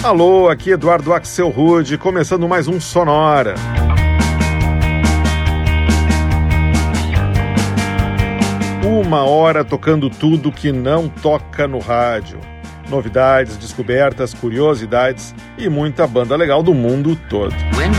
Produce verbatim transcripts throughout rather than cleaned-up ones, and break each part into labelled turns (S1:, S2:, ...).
S1: Alô, aqui Eduardo Axel Rude, começando mais um Sonora. Uma hora tocando tudo que não toca no rádio. Novidades, descobertas, curiosidades e muita banda legal do mundo todo.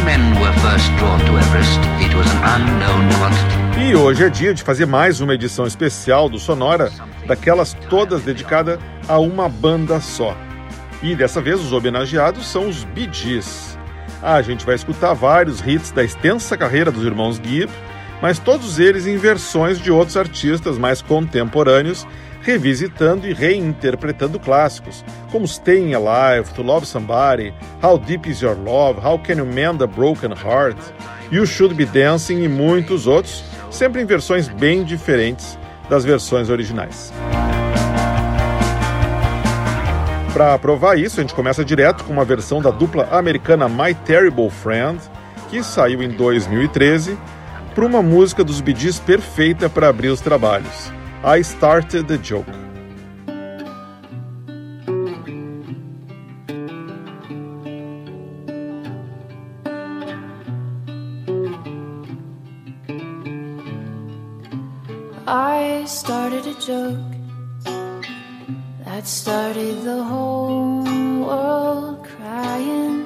S1: E hoje é dia de fazer mais uma edição especial do Sonora, daquelas todas dedicadas a uma banda só. E dessa vez os homenageados são os Bee Gees. A gente vai escutar vários hits da extensa carreira dos irmãos Gibb, mas todos eles em versões de outros artistas mais contemporâneos, revisitando e reinterpretando clássicos, como Staying Alive, To Love Somebody, How Deep Is Your Love, How Can You Mend a Broken Heart, You Should Be Dancing e muitos outros, sempre em versões bem diferentes das versões originais. Para provar isso, a gente começa direto com uma versão da dupla americana My Terrible Friend, que saiu em dois mil e treze, para uma música dos Bee Gees perfeita para abrir os trabalhos, I Started the Joke.
S2: I started a joke that started the whole world crying.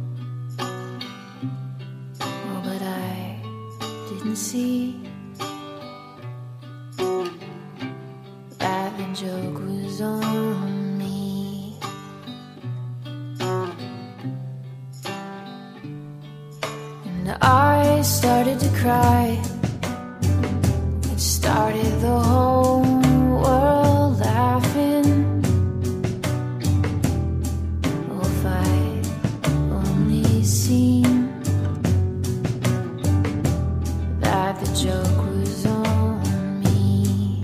S2: Oh, but I didn't see that the joke was on me. And I started to cry. It started the whole world laughing. Oh, if I only seen that the joke was on me.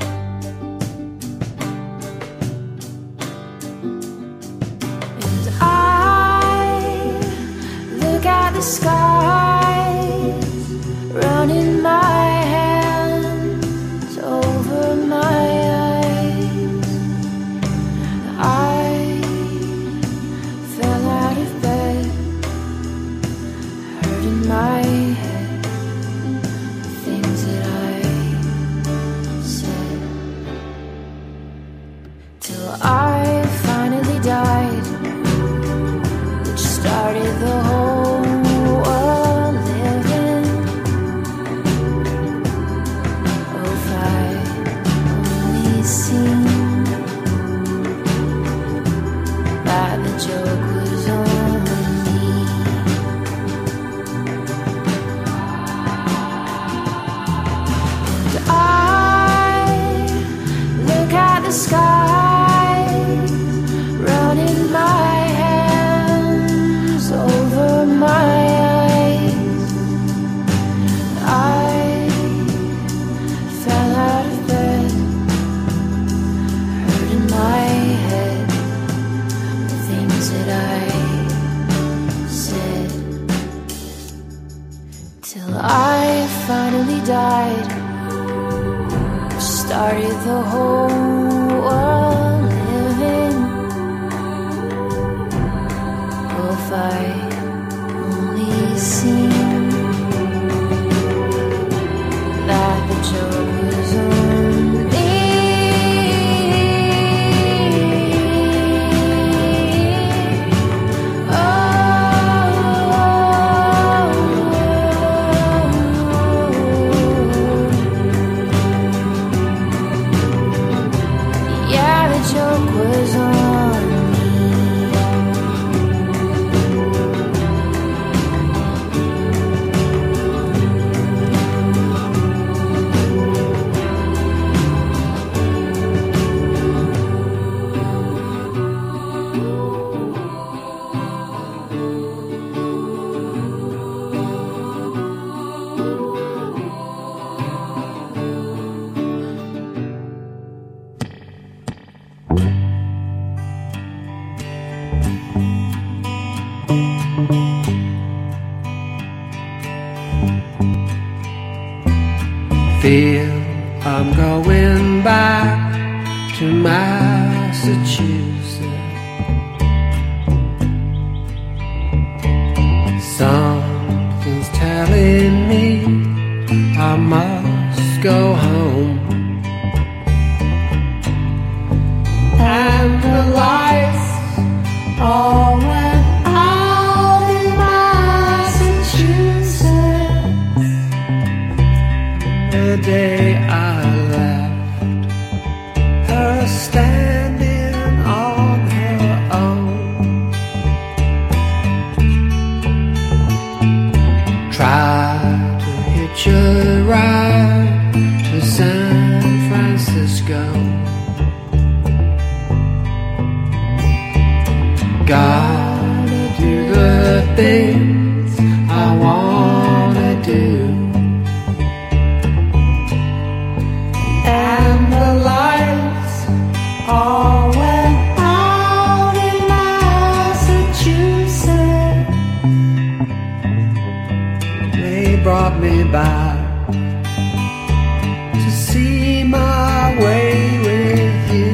S2: And I look at the sky, running my hands over my eyes. I fell out of bed, hurting my head, the things that I said, till I finally died, which started the whole world living. Oh, if I only seen that the joke was on me. And I look at the sky, running my hands over my eyes. I fell out of bed, hurting my head, the things that I said, till I finally died, which started the whole world living. Oh, if I only seen that the joke was on me. Yeah, the joke was on me.
S3: Feel I'm going back to Massachusetts. home. And the lights all went out in Massachusetts the day I left her standing on her own. Tried to hitch a ride to San Francisco. Gotta do the things I wanna do. And the lights all went out in Massachusetts. They brought me back to see my way with you.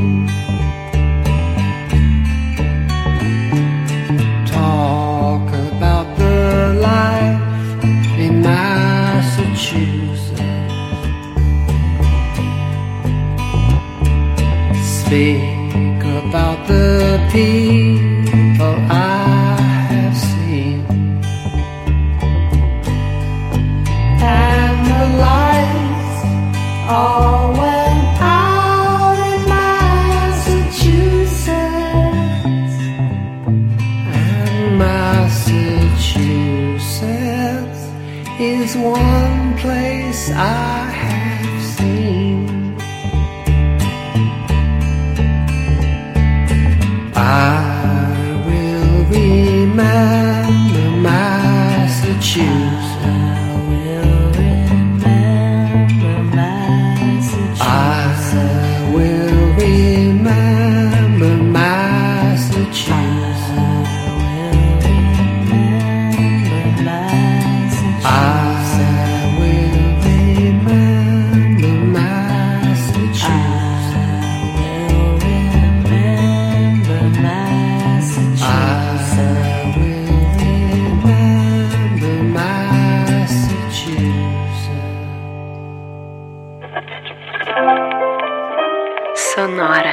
S3: Talk about the life in Massachusetts. Speak about the people I have seen. And the lights all went out in Massachusetts. And Massachusetts is one place I have seen. I will remember Massachusetts. I will remember Massachusetts. I will remember Massachusetts. I will remember Massachusetts.
S4: Sonora.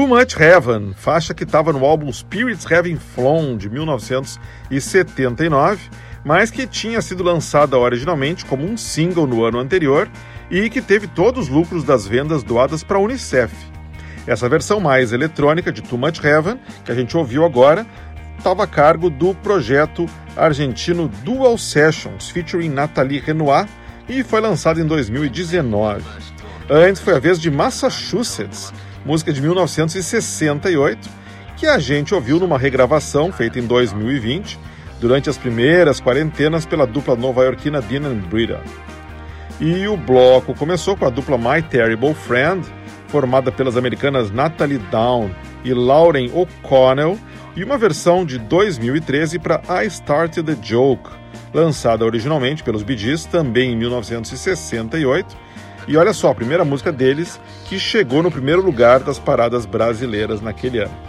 S1: Too Much Heaven, faixa que estava no álbum Spirits Having Flown, de mil novecentos e setenta e nove, mas que tinha sido lançada originalmente como um single no ano anterior e que teve todos os lucros das vendas doadas para a Unicef. Essa versão mais eletrônica de Too Much Heaven, que a gente ouviu agora, estava a cargo do projeto argentino Dual Sessions, featuring Nathalie Renoir, e foi lançado em dois mil e dezenove. Antes foi a vez de Massachusetts, música de mil novecentos e sessenta e oito, que a gente ouviu numa regravação feita em dois mil e vinte, durante as primeiras quarentenas pela dupla nova-iorquina Dean and Brita. E o bloco começou com a dupla My Terrible Friend, formada pelas americanas Natalie Down e Lauren O'Connell, e uma versão de dois mil e treze para I Started a Joke, lançada originalmente pelos Bee Gees também em mil novecentos e sessenta e oito, e olha só, a primeira música deles que chegou no primeiro lugar das paradas brasileiras naquele ano.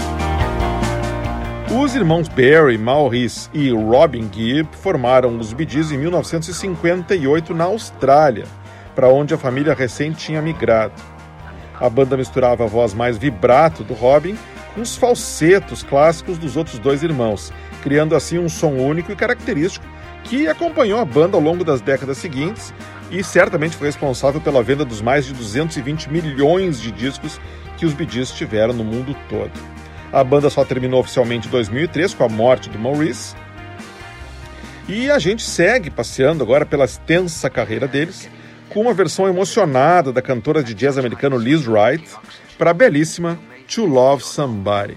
S1: Os irmãos Barry, Maurice e Robin Gibb formaram os Bee Gees em mil novecentos e cinquenta e oito na Austrália, para onde a família recente tinha migrado. A banda misturava a voz mais vibrato do Robin com os falsetos clássicos dos outros dois irmãos, criando assim um som único e característico que acompanhou a banda ao longo das décadas seguintes e certamente foi responsável pela venda dos mais de duzentos e vinte milhões de discos que os Bee Gees tiveram no mundo todo. A banda só terminou oficialmente em dois mil e três com a morte do Maurice. E a gente segue passeando agora pela extensa carreira deles com uma versão emocionada da cantora de jazz americano Liz Wright para a belíssima To Love Somebody.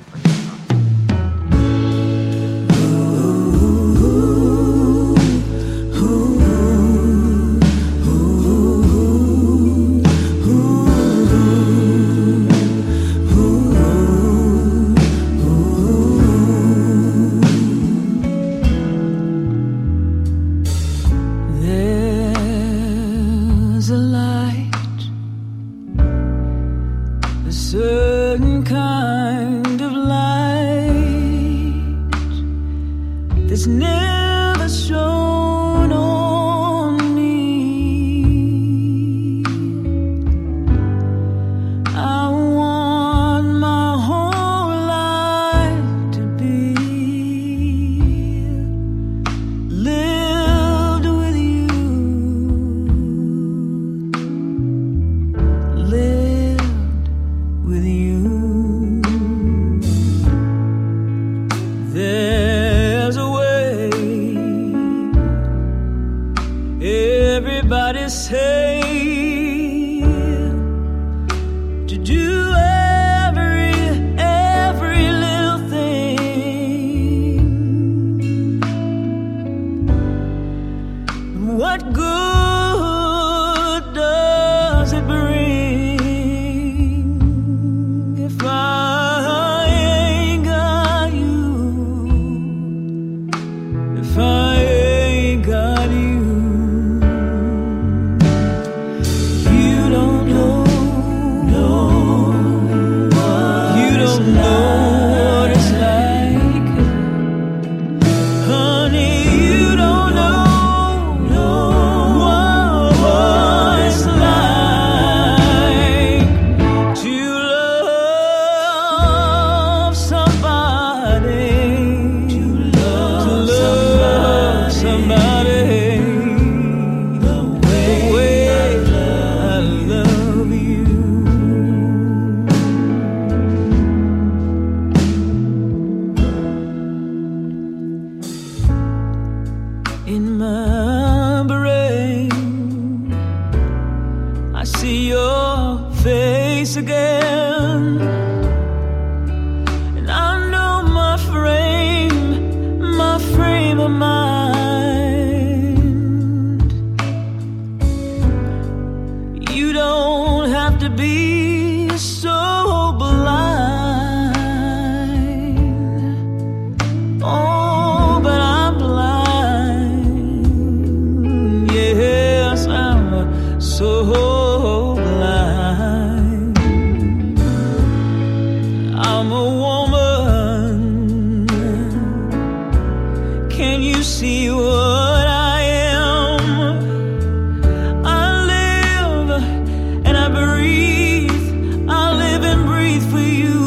S4: For you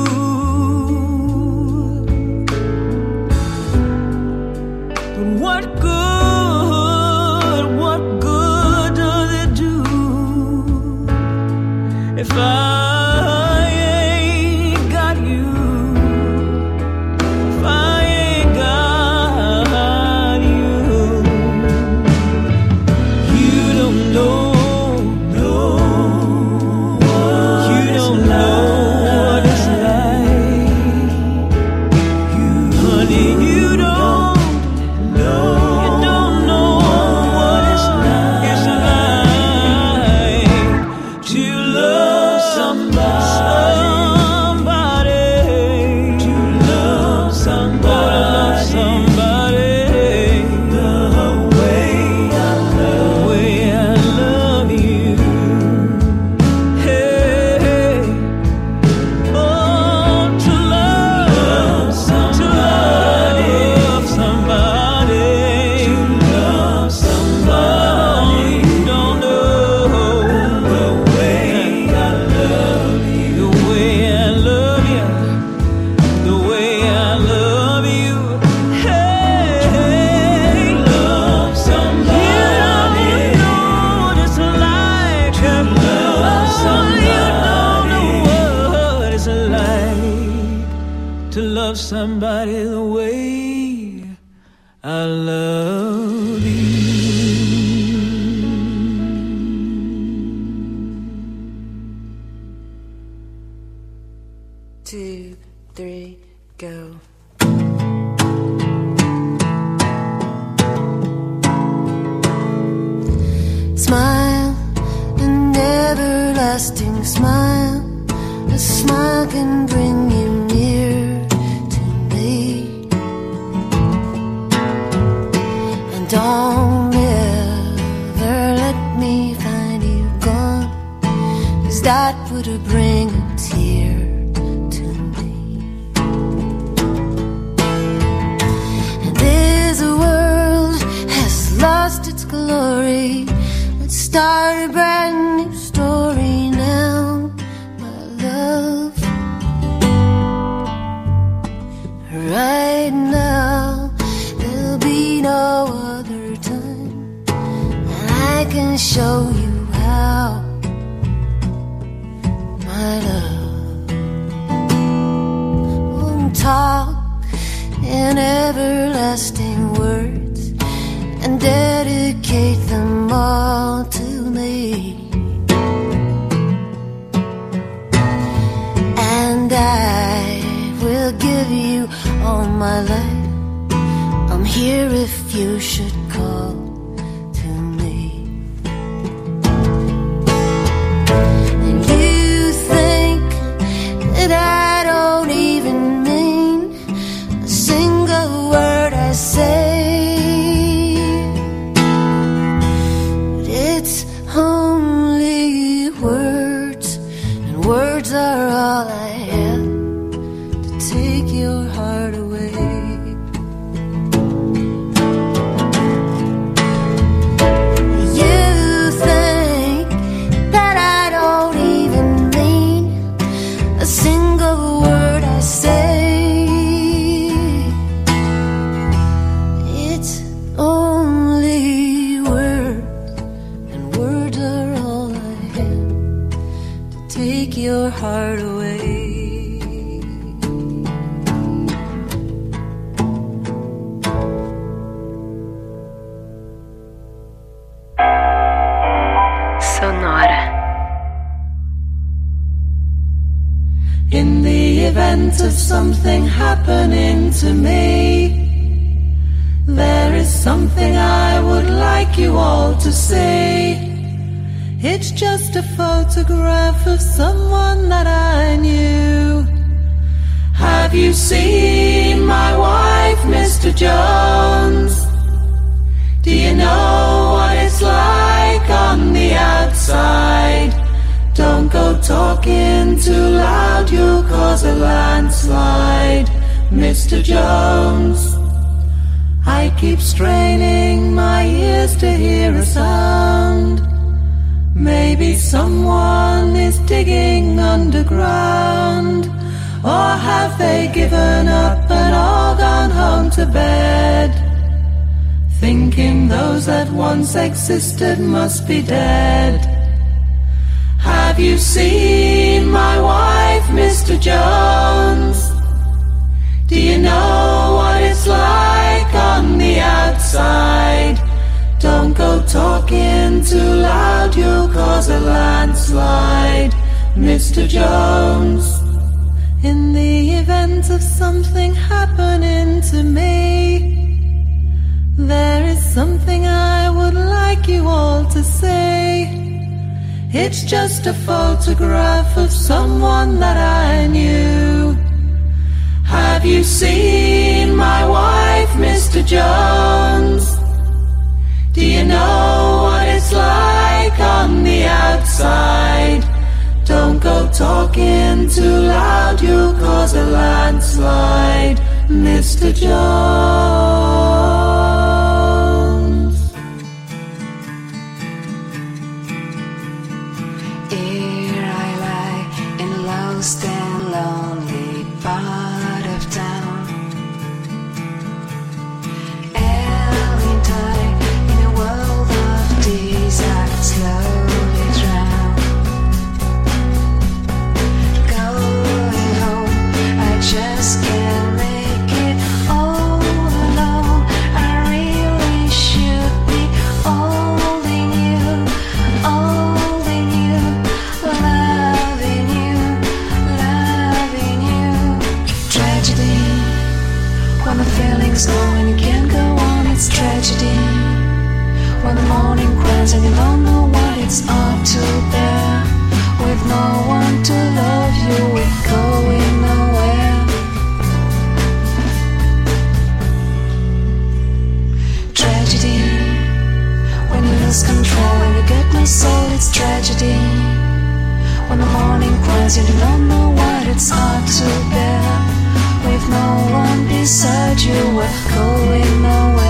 S4: I love you. Hey, love somebody. You know what it's like to love somebody. You don't know what it's like to love somebody the way I love you.
S2: Two, three, go. Smile, an everlasting smile. A smile can bring you near to me. And don't ever let me find you gone, 'cause that would bring a tear to me. And this world has lost its glory. Let's start a brand new story now, my love. Right now, there'll be no other time, and I can show you how, my love. Won't talk in everlasting words and dedicate them all to me. And I will give you all my life. I'm here if you should call to me. And you think that I don't even mean a single word I say, but it's only words, and words are all I have to take your heart away. You think that I don't even mean a single word I say. It's only words, and words are all I have to take your heart away.
S5: Sonora.
S4: In the event of something happening to me, there is something I would like you all to see. It's just a photograph of someone that I knew. Have you seen my wife, Mister Jones? Do you know what it's like on the outside? Don't go talking too loud, you'll cause a landslide, Mister Jones. I keep straining my ears to hear a sound. Maybe someone is digging underground, or have they given up and all gone home to bed, thinking those that once existed must be dead. Have you seen my wife, Mister Jones? Do you know what it's like on the outside? Don't go talking too loud, you'll cause a landslide, Mister Jones. In the event of something happening to me, there is something I would like you all to say. It's just a photograph of someone that I knew. Have you seen my wife, Mister Jones? Do you know what it's like on the outside? Don't go talking too loud, you'll cause a landslide, Mister Jones.
S5: Here I lie in lost and lonely part of town.
S2: just can't make it all alone. I really should be holding you, holding you, loving you, loving you. Tragedy, when the feeling's gone and you can't go on, it's tragedy. When the morning cries and you don't know what it's up to bear. With no one to love you, we're going nowhere. Tragedy, when you lose control and you get no soul, it's tragedy. When the morning cries and you don't know what it's hard to bear. With no one beside you, we're going nowhere.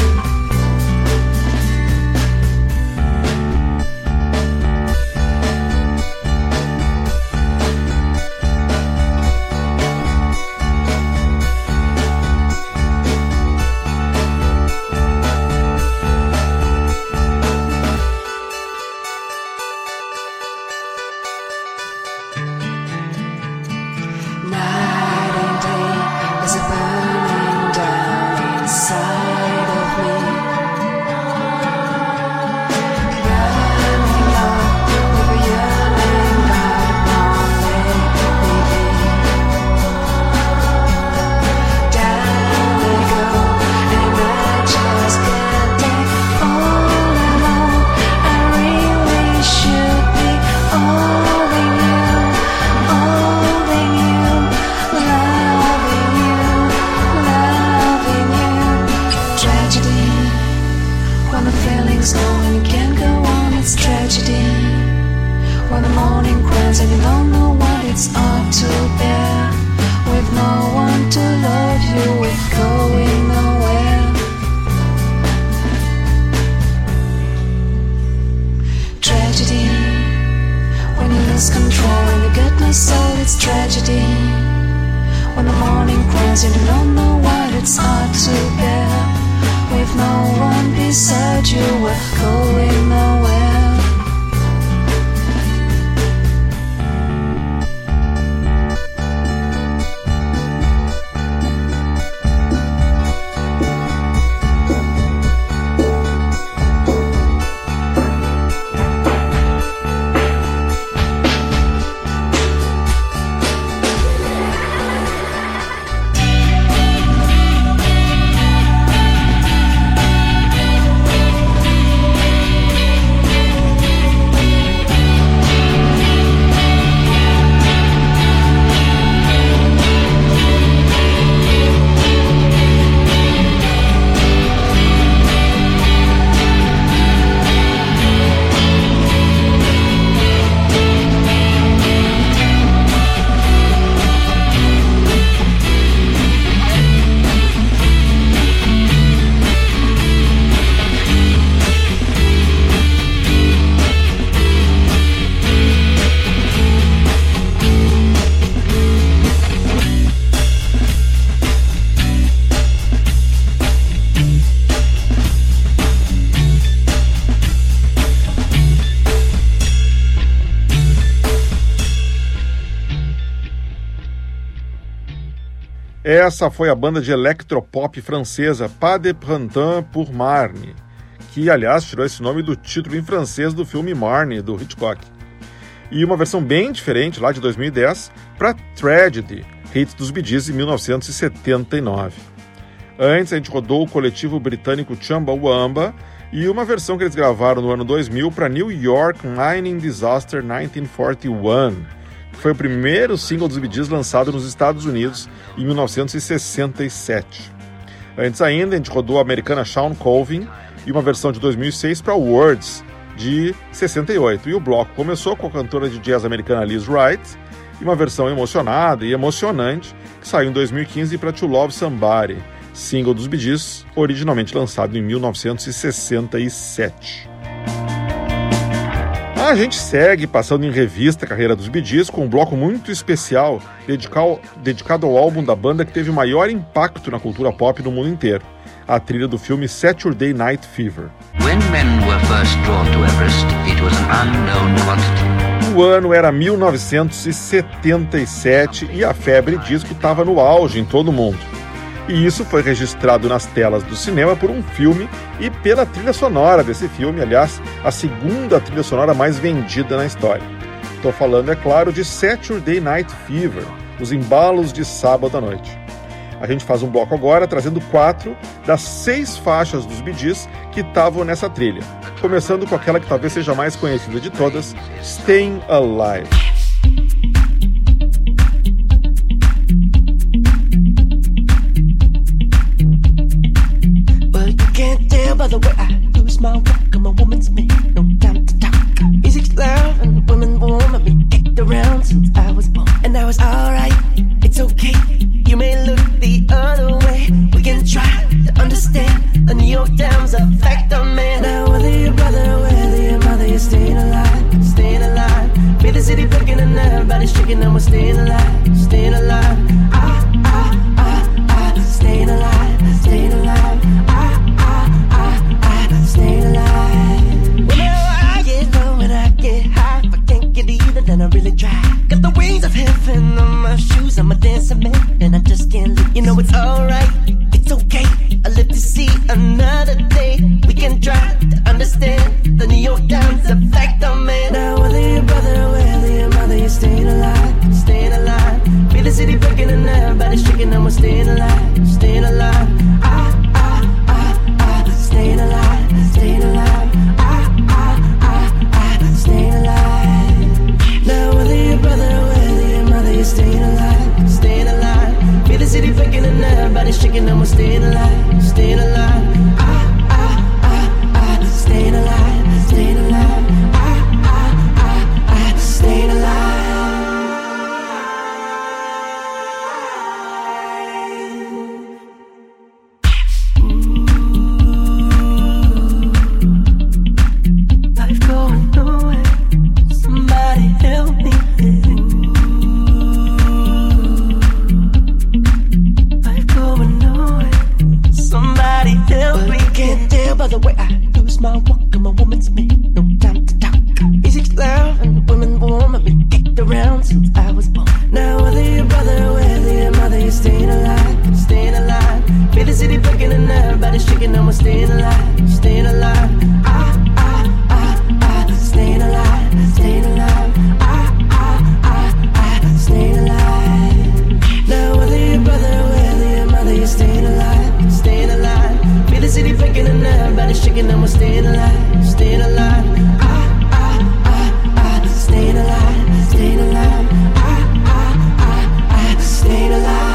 S1: Essa foi a banda de electropop francesa Pas de Printemps pour Marnie, que, aliás, tirou esse nome do título em francês do filme Marnie, do Hitchcock. E uma versão bem diferente, lá de dois mil e dez, para Tragedy, hit dos Bee Gees em mil novecentos e setenta e nove. Antes, a gente rodou o coletivo britânico Chumbawamba e uma versão que eles gravaram no ano dois mil para New York Mining Disaster nineteen forty-one, que foi o primeiro single dos Bee Gees lançado nos Estados Unidos em mil novecentos e sessenta e sete. Antes ainda, a gente rodou a americana Shawn Colvin e uma versão de dois mil e seis para Words, de sessenta e oito. E o bloco começou com a cantora de jazz americana Liz Wright e uma versão emocionada e emocionante que saiu em dois mil e quinze para To Love Somebody, single dos Bee Gees, originalmente lançado em mil novecentos e sessenta e sete. A gente segue passando em revista a carreira dos Bee Gees com um bloco muito especial dedicado, dedicado ao álbum da banda que teve o maior impacto na cultura pop no mundo inteiro, a trilha do filme Saturday Night Fever.
S6: When men were first drawn to Everest, it was an unknown quantity.
S1: O O ano era mil novecentos e setenta e sete e a febre disco estava no auge em todo o mundo. E isso foi registrado nas telas do cinema por um filme e pela trilha sonora desse filme, aliás, a segunda trilha sonora mais vendida na história. Estou falando, é claro, de Saturday Night Fever, os embalos de sábado à noite. A gente faz um bloco agora trazendo quatro das seis faixas dos Bee Gees que estavam nessa trilha, começando com aquela que talvez seja a mais conhecida de todas, Staying Alive.
S3: Well, you can't tell by the way I use my walk. I'm a woman's man, no time to talk. Music's loud and the women warm. I've been kicked around since I was born. And now it's alright, it's okay. You may look the other way. We can try to understand the New York Times effect on man. Now whether your brother, whether your mother, you're staying alive, staying alive. Feel the city breaking and everybody's shaking and we're staying alive, staying alive. Ah, ah, ah, ah, staying alive, staying alive. Ah, ah, ah, ah, staying alive. Whenever I get low and I get high, if I can't get either, then I really try. Got the wings of heaven on my shoes, I'm a dancing man, and I just can't leave. You know it's alright, it's okay. I live to see another day. We can try to understand the New York Times effect on man. Now whether your brother, whether your mother, you're staying alive, staying alive. Feel the city breaking and everybody's shaking and we're staying alive, staying alive. Ah, ah, ah, ah, staying alive, staying alive. Ah, ah, ah, ah, staying alive. Now whether your brother, whether your mother, you're staying alive, staying alive. Feel the city breaking and everybody's shaking and we're staying alive, staying alive. Ah, ah, ah, ah, staying alive, staying alive. Ah, ah, ah, ah, staying alive. Life going nowhere. Somebody help me. Life going nowhere. Somebody help me. You can't tell by the way I use my walk. I'm a woman's man, no time to talk. Music's loud and the women warm. I've been kicked around since I was born. Now whether your brother, whether your mother, you're staying alive, staying alive. Feel the city breaking and everybody's shaking and we're staying alive, staying alive. Ah, ah, ah, ah, staying alive, staying alive. Ah, ah, ah, ah, staying alive. Now whether your brother, whether your mother, you're staying alive, staying alive. Feel the city breaking and everybody's shaking and we're staying alive, staying alive. Ah, ah, ah, ah, staying alive, staying alive. Ah, ah, ah, ah, staying alive.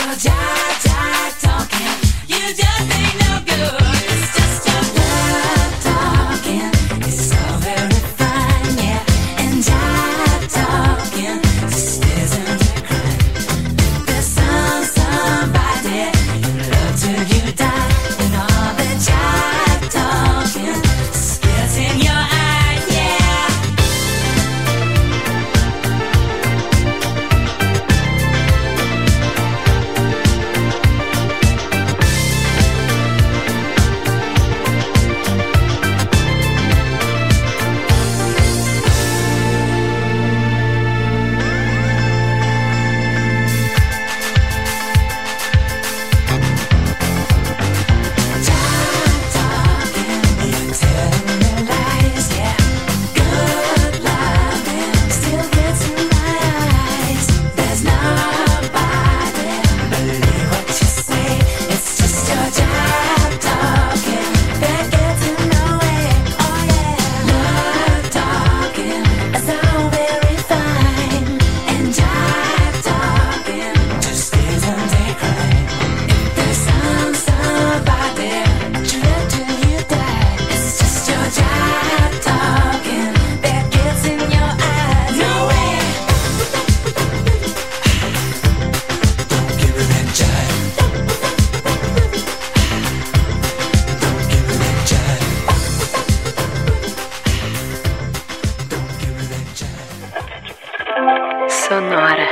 S4: your jive, jive talking. You just ain't no good. It's just your love talking. It's all very fine, yeah. And jive talking just isn't a crime. There's some somebody you love till you die, and all the jive talking spills in your eye, yeah.
S5: Sonora.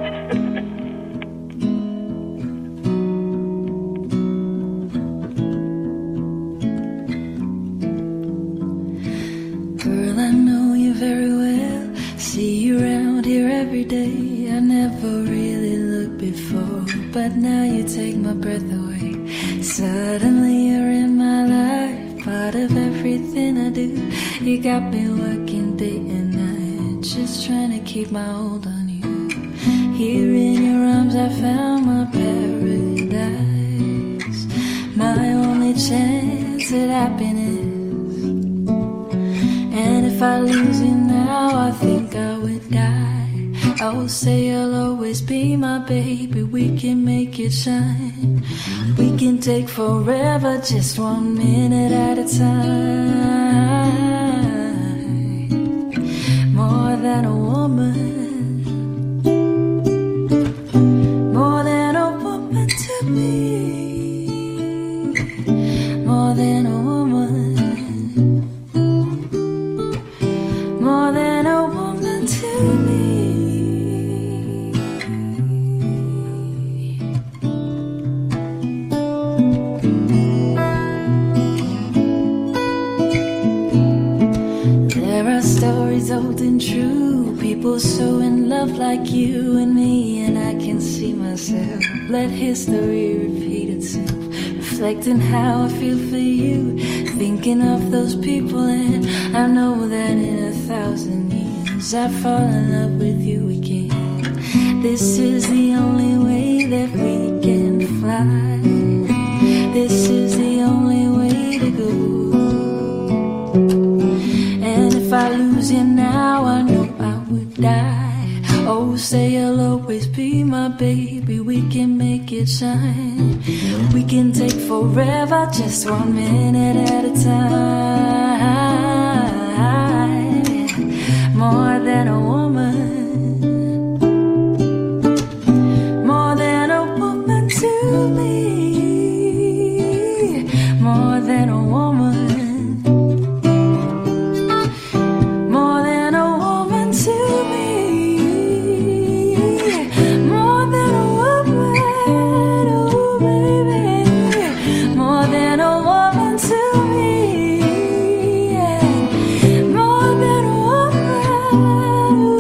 S4: Girl, I know you very well. See you around here every day. I never really looked before, but now you take my breath away. Suddenly you're in my life, part of everything I do. You got me working day and night, just trying to keep my hold on you. Here in your arms I found my paradise, my only chance at happiness. And if I lose you now, I think I would die. I will say you'll always be my baby. We can make it shine. We can take forever, just one minute at a time. More than a woman, more than a woman to me, more than a woman, more than a woman to me. There are stories old and true, people so in love like you and me, and I can see myself. Let history repeat itself, reflecting how I feel for you, thinking of those people, and I know that in a thousand years I fall in love with you again. This is the only way that we can fly. This is the only way to go. And if I lose you now, I know I would die. Oh, say you'll always be my baby. We can make it shine. We can take forever, just one minute at a time. More than a woman, more than a woman to me, more than a woman. More than a woman.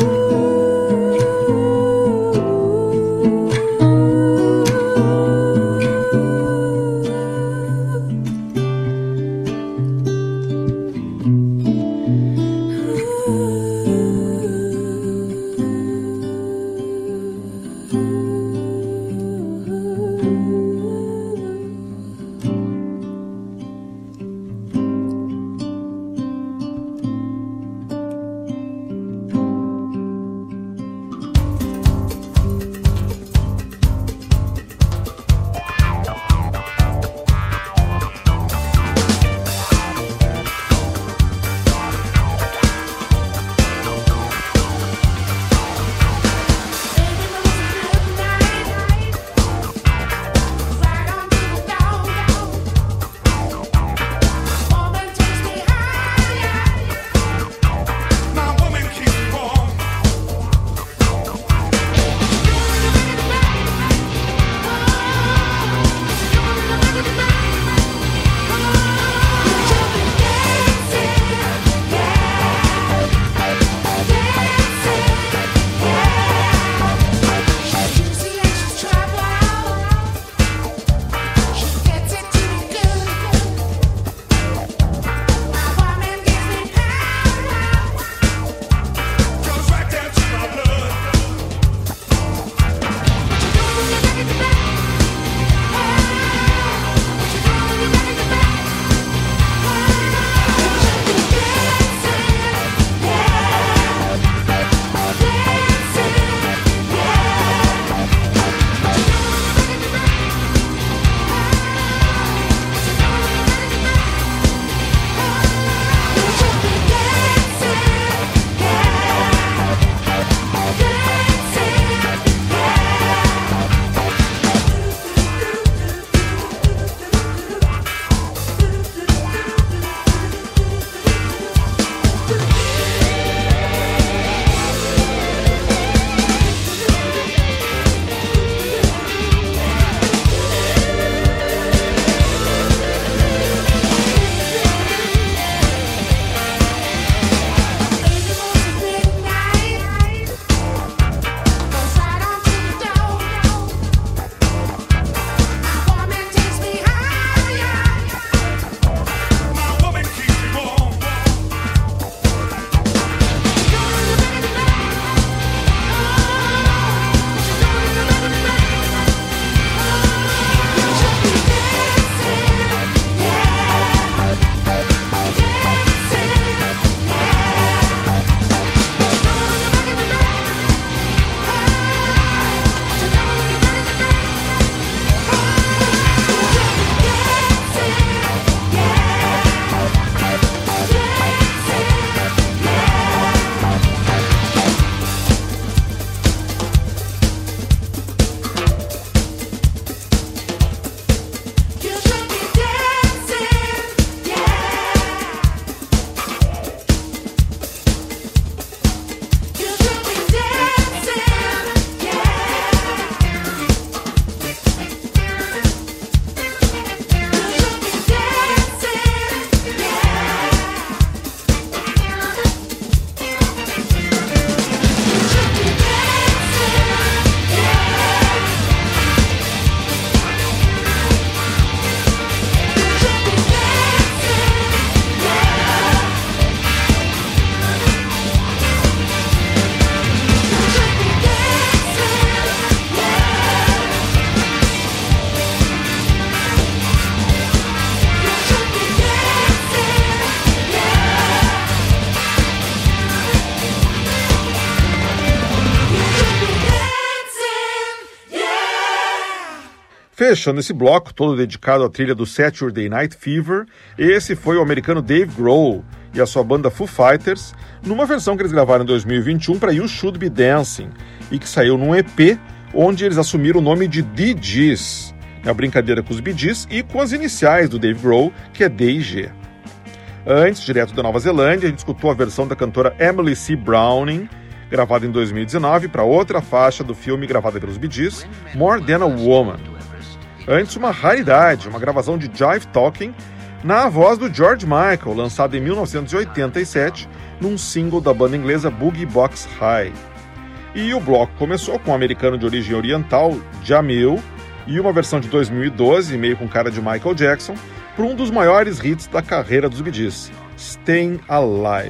S1: Fechando esse bloco, todo dedicado à trilha do Saturday Night Fever, esse foi o americano Dave Grohl e a sua banda Foo Fighters, numa versão que eles gravaram em dois mil e vinte e um para You Should Be Dancing, e que saiu num E P onde eles assumiram o nome de Dee Gees, a brincadeira com os Bee Gees e com as iniciais do Dave Grohl, que é D e G. Antes, direto da Nova Zelândia, a gente escutou a versão da cantora Emily C. Browning, gravada em dois mil e dezenove para outra faixa do filme gravada pelos Bee Gees, More Than a Woman. Antes, uma raridade, uma gravação de Jive Talking na voz do George Michael, lançada em mil novecentos e oitenta e sete, num single da banda inglesa Boogie Box High. E o bloco começou com um americano de origem oriental, Jamil, e uma versão de dois mil e doze, meio com cara de Michael Jackson, para um dos maiores hits da carreira dos Bee Gees, Staying Alive.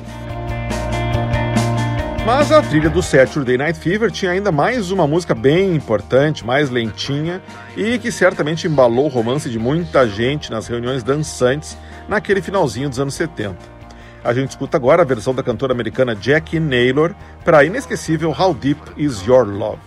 S1: Mas a trilha do Saturday Night Fever tinha ainda mais uma música bem importante, mais lentinha, e que certamente embalou o romance de muita gente nas reuniões dançantes naquele finalzinho dos anos setenta. A gente escuta agora a versão da cantora americana Jackie Naylor para a inesquecível How Deep Is Your Love?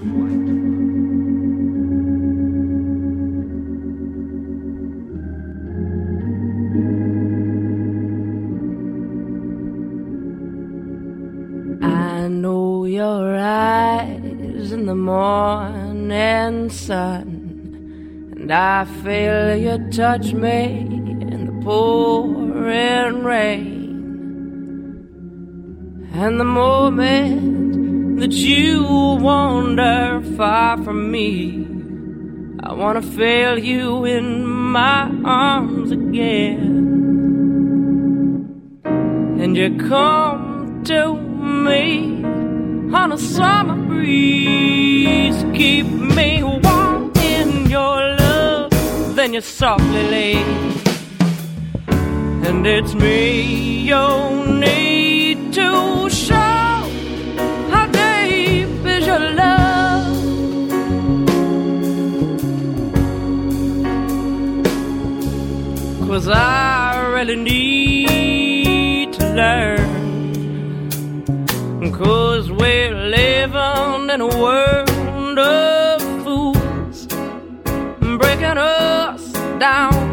S3: I know your eyes in the morning sun, and I feel you touch me in the pouring rain. And the moment that you wander far from me, I wanna feel you in my arms again. And you come to me on a summer breeze, keep me warm in your love, then you softly leave. And it's me you need to show how deep is your love. 'Cause I really need to learn. 'Cause we're living in a world of fools, breaking us down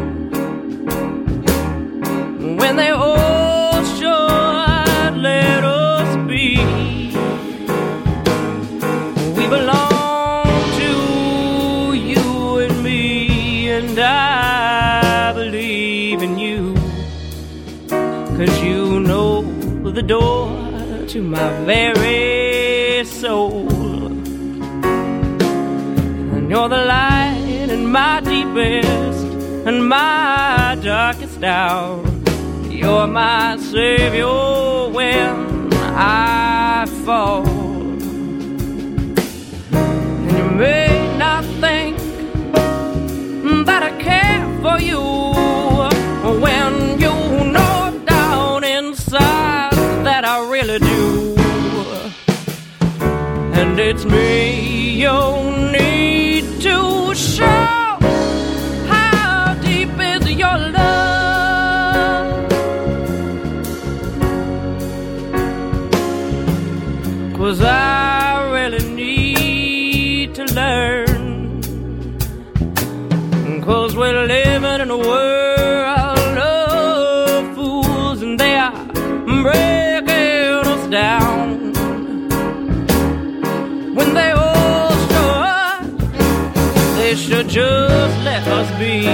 S3: when they all should let us be. We belong to you and me, and I believe in you, 'cause you know the door to my very soul. And you're the light in my deepest and my darkest hour. You're my savior when I fall. And you may not think that I care for you when you know down inside that I really do. And it's me you need to show how deep is your love. 'Cause I really need to learn. 'Cause we're living in a world of fools, and they are breaking us down when they all show us they should just let us be.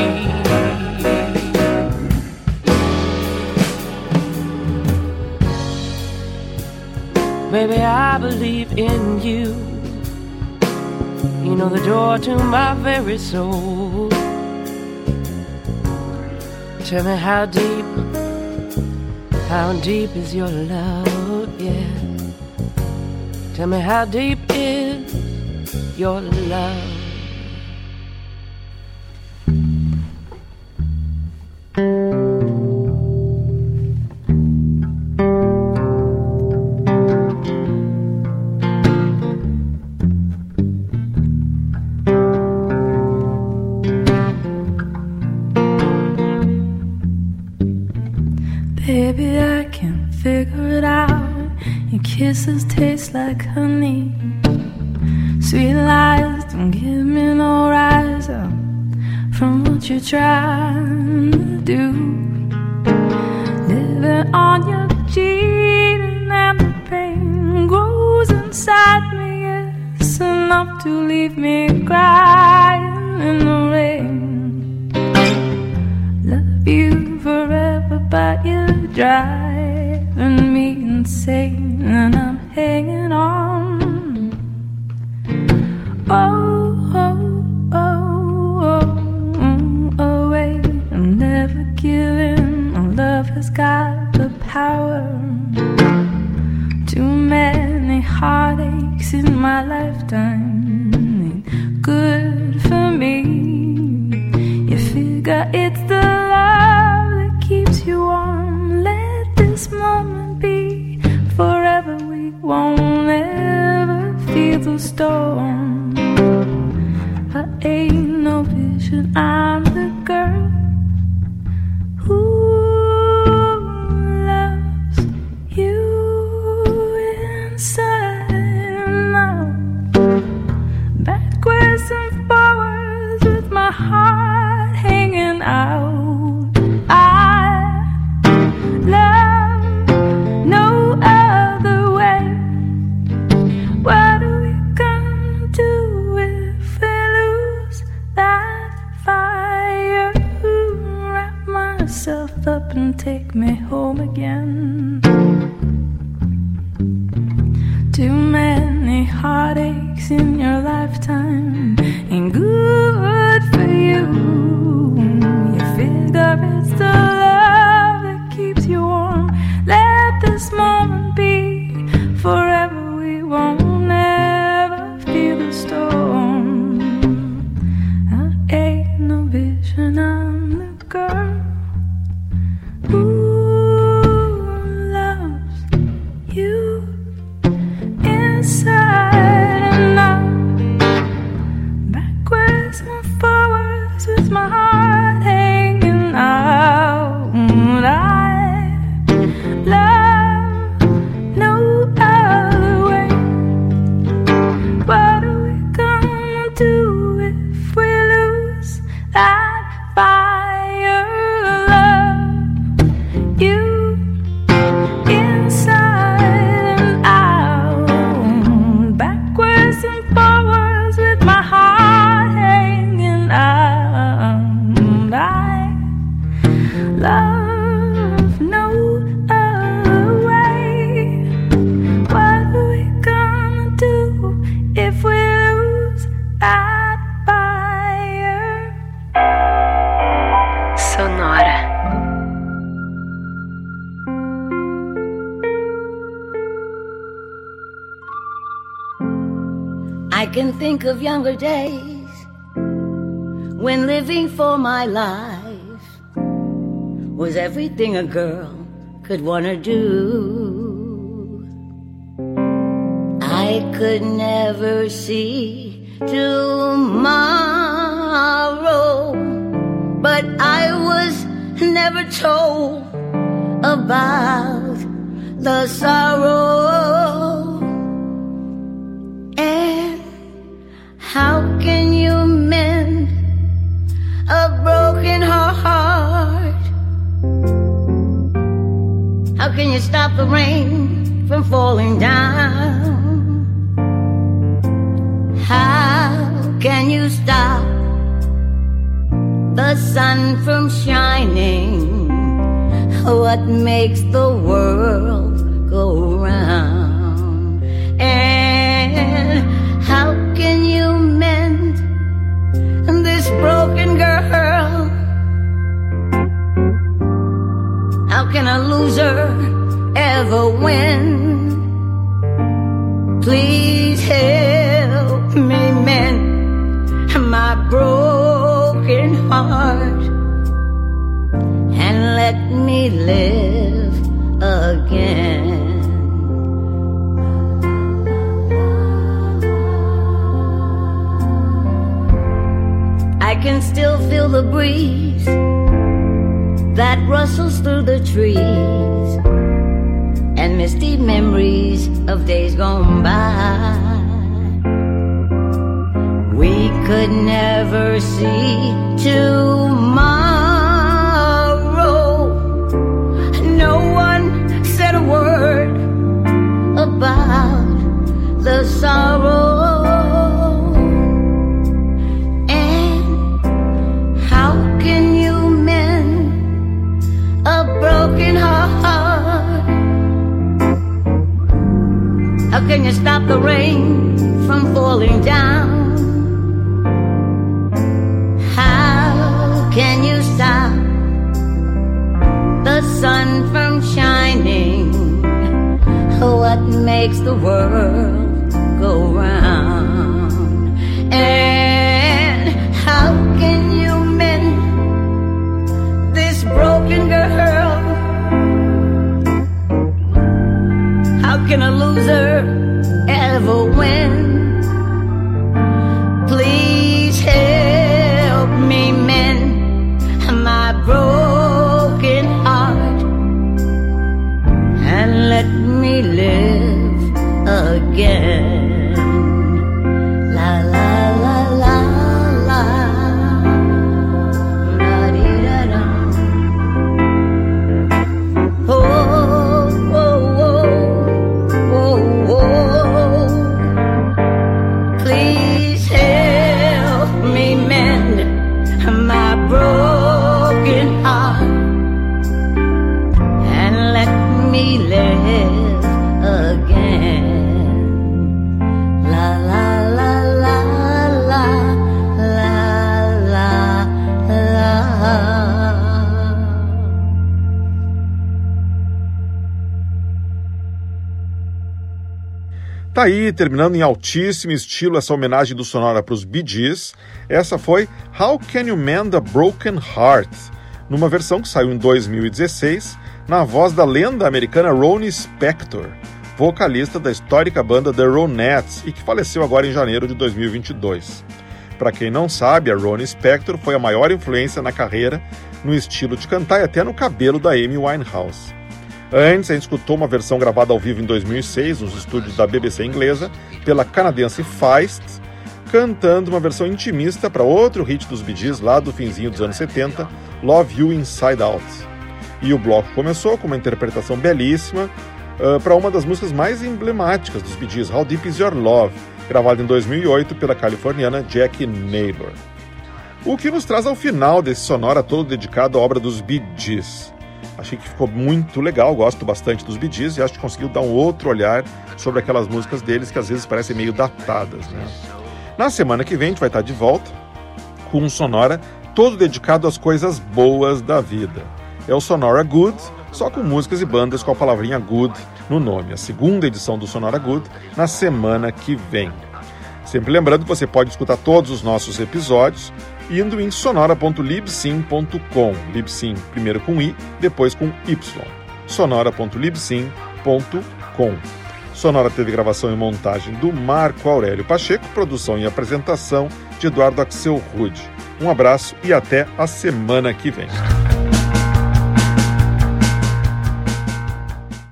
S3: Baby, I believe in you. You know the door to my very soul. Tell me how deep, how deep is your love, yeah. Tell me how deep is your love.
S2: Baby, I can figure it out. Your kisses taste like honey. Sweet lies don't give me no rise up.
S6: what you're trying to do. Living on your cheating and the pain grows inside me. It's enough to leave me crying in the rain. Love you forever, but you're driving me insane, and I'm hanging on. Oh, oh, oh, oh, oh, wait, I'm never giving. Love has got the power. Too many heartaches in my lifetime ain't good for me. You figure it's the love that keeps you warm. Let this moment be forever. We won't ever feel the storm. I ain't no vision, I'm the girl who loves you inside and out, backwards and forwards with my heart hanging out. I love no other way. What are we gonna do if we lose that fire? Wrap myself up and take me home again. Too many heartaches in your lifetime ain't good for you. You figure it's the love that keeps you warm. Let this moment be forever. We won't ever feel the storm. I ain't no vision, I'm the girl who loves you inside and out, backwards and forwards with my heart hanging out. I love no other way. What are we gonna do if we lose that fire? Love you inside and out, backwards and forwards with my heart hanging out. I love no other way. What are we gonna do if we lose that fire?
S5: Sonora.
S7: I can think of younger days when living for my life was everything a girl could wanna do. I could never see tomorrow, but I was never told about the sorrow. And how can you mend a broken heart? How can you stop the rain from falling down? How can you stop the sun from shining? What makes the world go round? And how can you mend this broken girl? How can a loser ever win? Please help me mend my broken heart and let me live again. I can still feel the breeze that rustles through the trees, and misty memories of days gone by. We could never see tomorrow. No one said a word about the sorrow. And how can you mend a broken heart? How can you stop the rain from falling down? How can you stop the sun from shining? What makes the world go round? And how can you mend this broken girl? How can a loser ever win? Please help me mend my broken heart and let me live again. La la la la la. Da dee da da. Oh oh oh oh oh. Please help me mend my broken heart and let me live again. La la la la la la la la.
S1: Tá aí, terminando em altíssimo estilo essa homenagem do Sonora para os Bee Gees. Essa foi How Can You Mend a Broken Heart, numa versão que saiu em dois mil e dezesseis, na voz da lenda americana Ronnie Spector, vocalista da histórica banda The Ronettes e que faleceu agora em janeiro de dois mil e vinte e dois. Para quem não sabe, a Ronnie Spector foi a maior influência na carreira, no estilo de cantar e até no cabelo da Amy Winehouse. Antes, a gente escutou uma versão gravada ao vivo em dois mil e seis, nos estúdios da B B C inglesa, pela canadense Feist, cantando uma versão intimista para outro hit dos Bee Gees lá do finzinho dos anos setenta, Love You Inside Out. E o bloco começou com uma interpretação belíssima uh, para uma das músicas mais emblemáticas dos Bee Gees, How Deep Is Your Love, gravada em dois mil e oito pela californiana Jackie Naylor. O que nos traz ao final desse Sonora todo dedicado à obra dos Bee Gees. Achei que ficou muito legal, gosto bastante dos Bee Gees e acho que conseguiu dar um outro olhar sobre aquelas músicas deles que às vezes parecem meio datadas, né? Na semana que vem a gente vai estar de volta com um Sonora todo dedicado às coisas boas da vida. É o Sonora Good, só com músicas e bandas com a palavrinha good no nome. A segunda edição do Sonora Good na semana que vem. Sempre lembrando que você pode escutar todos os nossos episódios indo em sonora ponto libsyn ponto com. Libsyn primeiro com I, depois com Y. sonora ponto libsyn ponto com. Sonora teve gravação e montagem do Marco Aurélio Pacheco, produção e apresentação de Eduardo Axel Rude. Um abraço e até a semana que vem.